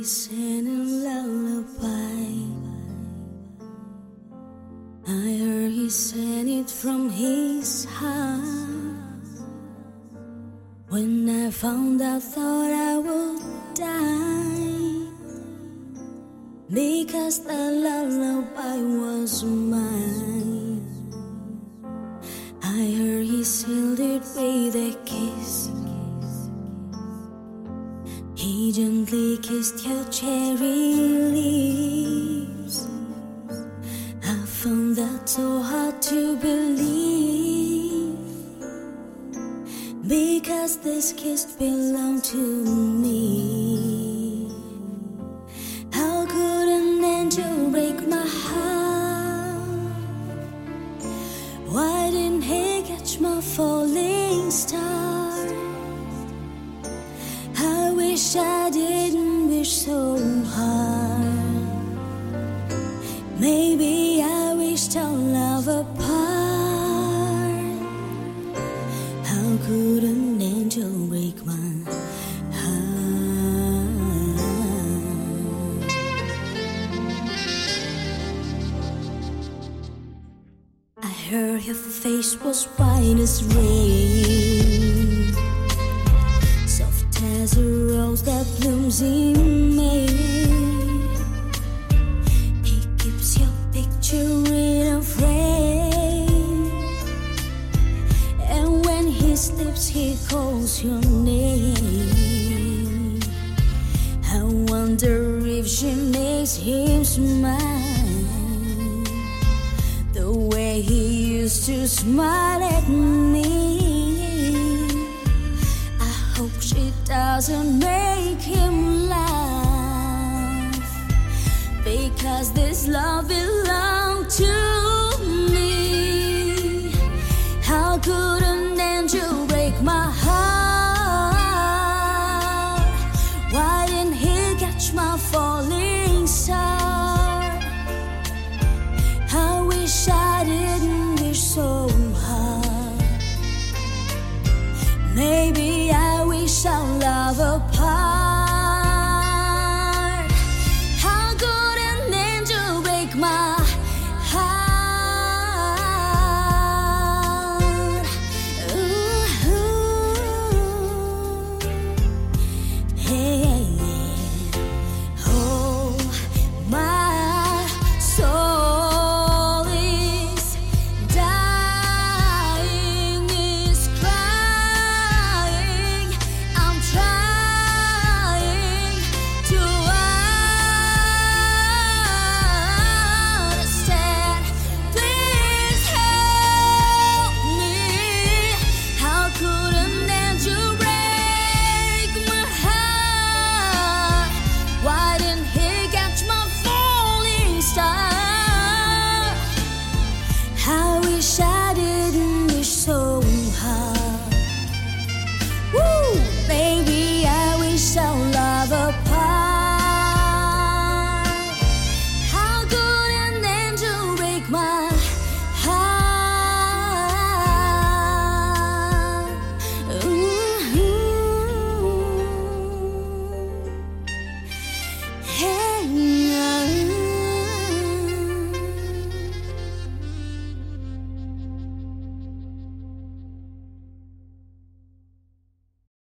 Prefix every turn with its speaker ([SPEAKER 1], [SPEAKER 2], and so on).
[SPEAKER 1] sang a lullaby. I heard he sang it from his heart. When I found out, thought I would die, because the lullaby was mine. I heard he sealed it with a kiss. He gently kissed your cherry lips. I found that so hard to believe, because this kiss belonged to me. How could an angel break my heart? Why didn't he catch my falling star? I wish I didn't wish so hard. Maybe I wished our love apart. How could an angel break my heart? I heard your face was white as rain, soft as a rose that blooms in May. He keeps your picture in a frame, and when he sleeps he calls your name. I wonder if she makes him smile the way he used to smile at me. I hope she doesn't make him laugh, because this love belonged to me. How could an angel break my heart? Why didn't he catch my falling star? I wish I didn't wish so hard. Maybe I wish our love apart.